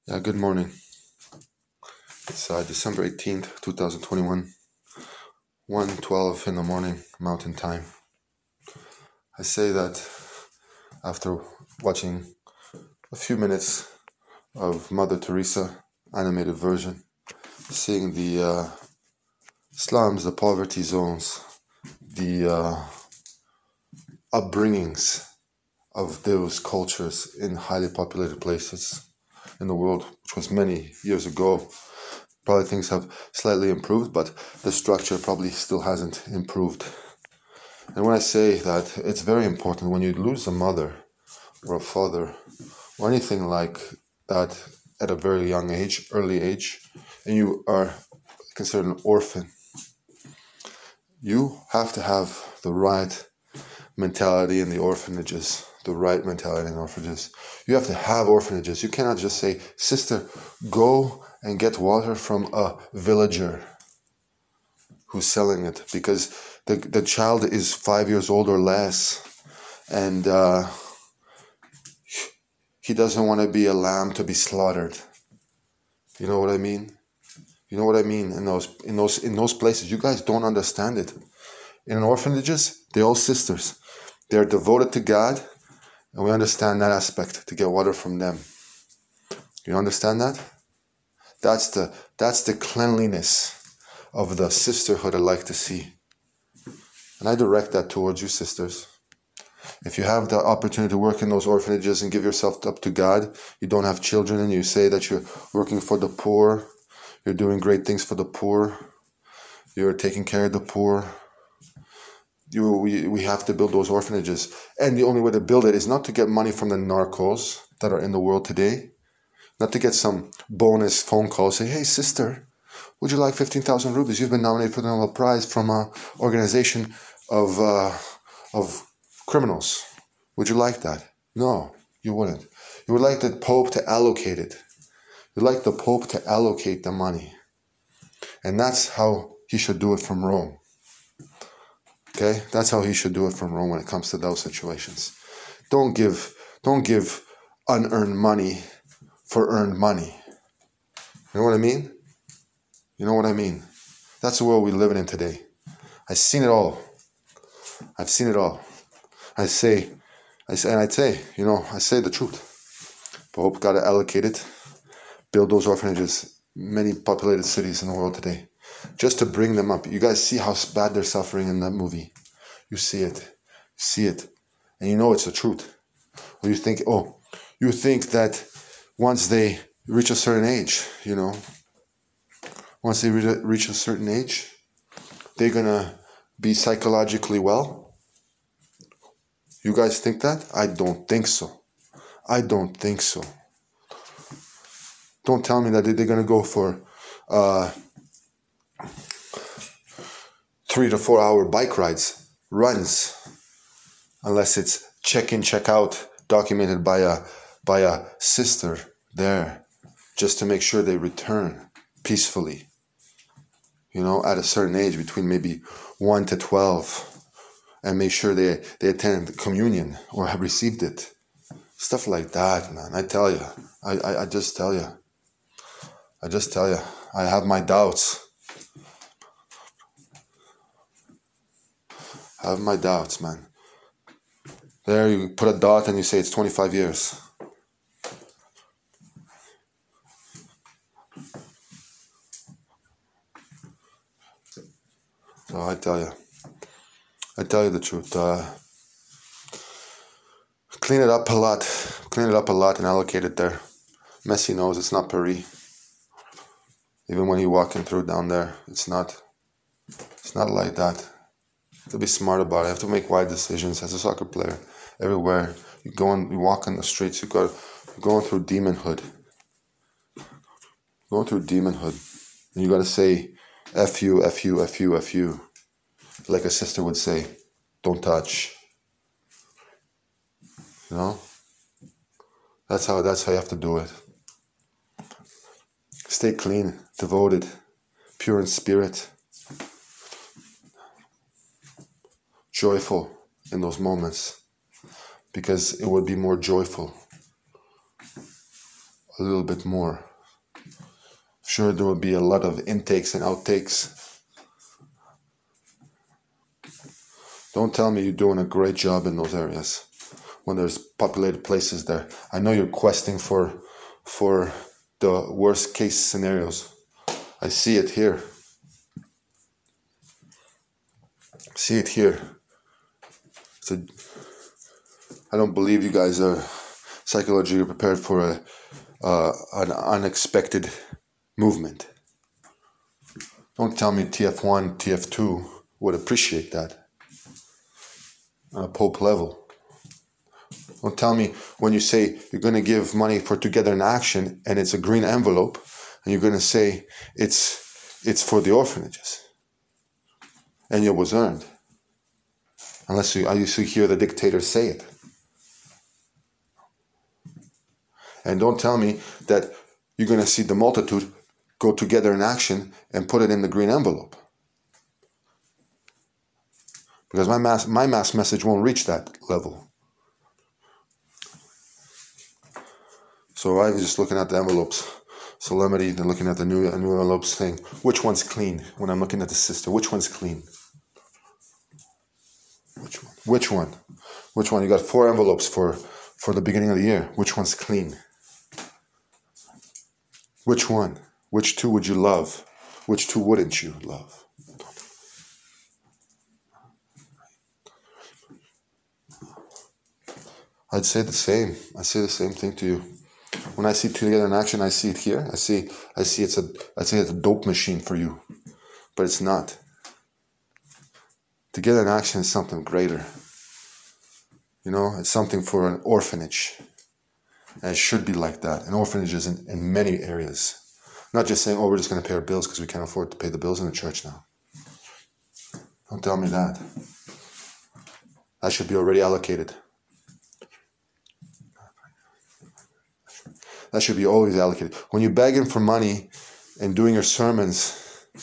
Yeah, good morning. It's December 18th, 2021, 1:12 in the morning, Mountain Time. I say that after watching a few minutes of Mother Teresa animated version, seeing the slums, the poverty zones, the upbringings of those cultures in highly populated places in the world, which was many years ago. Probably things have slightly improved, but the structure probably still hasn't improved. And when I say that, it's very important when you lose a mother or a father or anything like that at a very young age, early age, and you are considered an orphan, you have to have the right mentality in the orphanages, the right mentality in orphanages. You have to have orphanages. You cannot just say, sister, go and get water from a villager who's selling it, because the child is 5 years old or less, and he doesn't want to be a lamb to be slaughtered. You know what I mean? You know what I mean? In those places, you guys don't understand it. In orphanages, they're all sisters. They're devoted to God, and we understand that aspect to get water from them. You understand that? That's the cleanliness of the sisterhood I like to see. And I direct that towards you, sisters. If you have the opportunity to work in those orphanages and give yourself up to God, you don't have children, and you say that you're working for the poor, you're doing great things for the poor, you're taking care of the poor, we have to build those orphanages. And the only way to build it is not to get money from the narcos that are in the world today, not to get some bonus phone call, say, hey, sister, would you like 15,000 rupees? You've been nominated for the Nobel Prize from an organization of criminals. Would you like that? No, you wouldn't. You would like the Pope to allocate it. You'd like the Pope to allocate the money. And that's how he should do it from Rome. Okay? That's how he should do it from Rome when it comes to those situations. Don't give unearned money for earned money. You know what I mean? You know what I mean? That's the world we live in today. I've seen it all. I've seen it all. I say the truth. Pope got to allocate it, build those orphanages, many populated cities in the world today, just to bring them up. You guys see how bad they're suffering in that movie. You see it, and you know it's the truth. Or you think that once they reach a certain age, once they reach a certain age, they're gonna be psychologically well. You guys think that? I don't think so. Don't tell me that they're going to go for 3 to 4 hour bike runs, unless it's check in, check out, documented by a sister there, just to make sure they return peacefully. At a certain age, between maybe 1 to 12, and make sure they attend the communion or have received it. Stuff like that, man. I tell you. I just tell you. I have my doubts. Man. There you put a dot and you say it's 25 years. So I tell you the truth. Clean it up a lot and allocate it there. Messi knows it's not Paris. Even when you're walking through down there, it's not like that. You have to be smart about it. You have to make wise decisions as a soccer player. Everywhere you walk on the streets, you're going through demonhood. And you got to say, F you, F you, F you, F you. Like a sister would say, don't touch. That's how you have to do it. Stay clean, devoted, pure in spirit, joyful in those moments, because it would be more joyful a little bit more. Sure, there will be a lot of intakes and outtakes. Don't tell me you're doing a great job in those areas when there's populated places there. I know you're questing for the worst case scenarios. I see it here. See it here. So I don't believe you guys are psychologically prepared for an unexpected movement. Don't tell me TF1, TF2 would appreciate that on a Pope level. Don't tell me when you say you're going to give money for Together in Action and it's a green envelope and you're going to say it's for the orphanages and it was earned. Unless you hear the dictator say it. And don't tell me that you're going to see the multitude go Together in Action and put it in the green envelope. Because my mass message won't reach that level. So I was just looking at the envelopes. Solemnity, then looking at the new envelopes saying, which one's clean? When I'm looking at the sister, which one's clean? Which one? Which one? You got 4 envelopes for the beginning of the year. Which one's clean? Which one? Which 2 would you love? Which 2 wouldn't you love? I'd say the same. I say the same thing to you. When I see Together in Action, I see it here. I say it's a dope machine for you, but it's not. Together in Action is something greater. You know, it's something for an orphanage, and it should be like that. An orphanage is in many areas, not just saying, "Oh, we're just going to pay our bills because we can't afford to pay the bills in the church now." Don't tell me that. That should be already allocated. That should be always allocated. When you're begging for money and doing your sermons,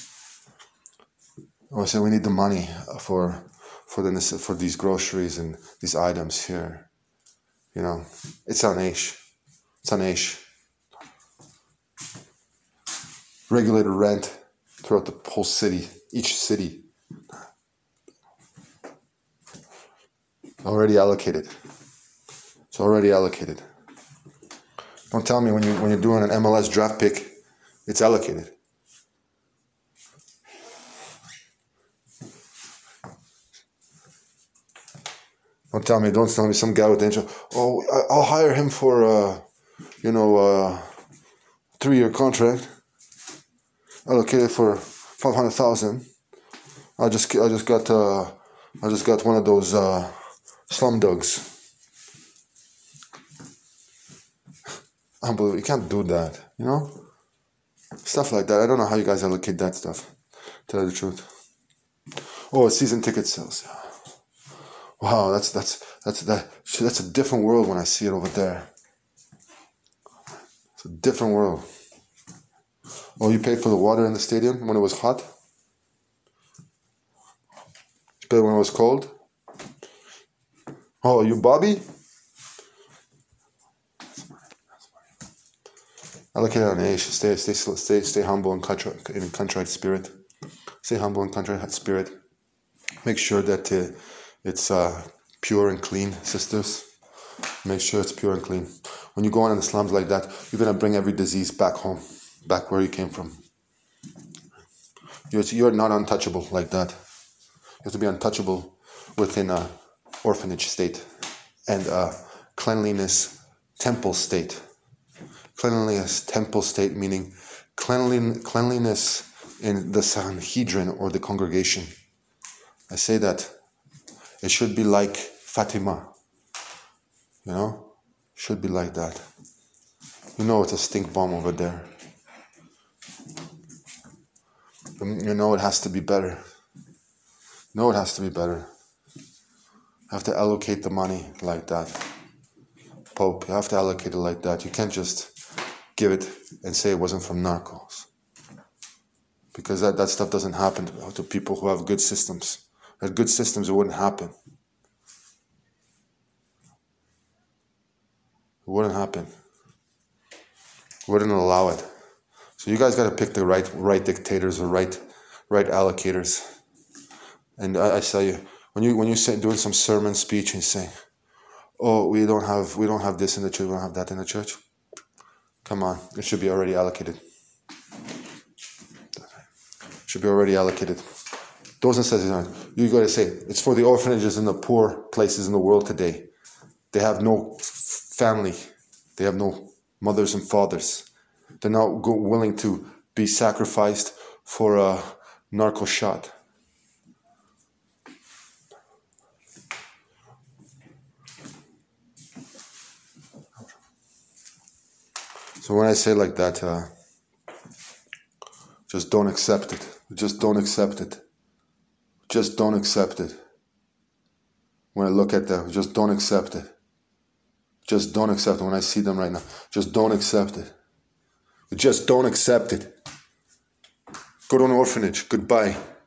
or say we need the money for these groceries and these items here, you know, it's on Aish. It's on Aish. Regulated rent throughout the whole city, each city. Already allocated. It's already allocated. Don't tell me when you're doing an MLS draft pick, it's allocated. Don't tell me some guy with the intro. Oh, I'll hire him for a 3-year contract. Allocated for $500,000. I just got one of those slum dogs. Unbelievable. You can't do that, you know? Stuff like that. I don't know how you guys allocate that stuff, to tell you the truth. Oh, season ticket sales. Wow, that's a different world when I see it over there. It's a different world. Oh, you paid for the water in the stadium when it was hot? You paid when it was cold? Oh, you Bobby? Allocate on age. Stay humble and contrite spirit. Stay humble and contrite spirit. Make sure that it's pure and clean, sisters. Make sure it's pure and clean. When you go on in the slums like that, you're gonna bring every disease back home, back where you came from. You're not untouchable like that. You have to be untouchable within a orphanage state and a cleanliness temple state. Cleanliness temple state meaning cleanliness in the Sanhedrin or the congregation. I say that it should be like Fatima. You know? Should be like that. You know it's a stink bomb over there. You know it has to be better. You know it has to be better. You have to allocate the money like that. Pope, you have to allocate it like that. You can't just give it and say it wasn't from narcos. Because that stuff doesn't happen to people who have good systems. Had good systems, it wouldn't happen. It wouldn't happen. wouldn't allow it. So you guys got to pick the right dictators or right allocators. And I tell you, when you say doing some sermon speech and saying, "Oh, we don't have this in the church, we don't have that in the church," come on, it should be already allocated. Should be already allocated. Doesn't say you got to say it's for the orphanages in the poor places in the world today. They have no family. They have no mothers and fathers. They're not willing to be sacrificed for a narco shot. So when I say like that, just don't accept it. Just don't accept it. Just don't accept it. When I look at them, just don't accept it. Just don't accept it. When I see them right now, just don't accept it. Just don't accept it. Go to an orphanage. Goodbye.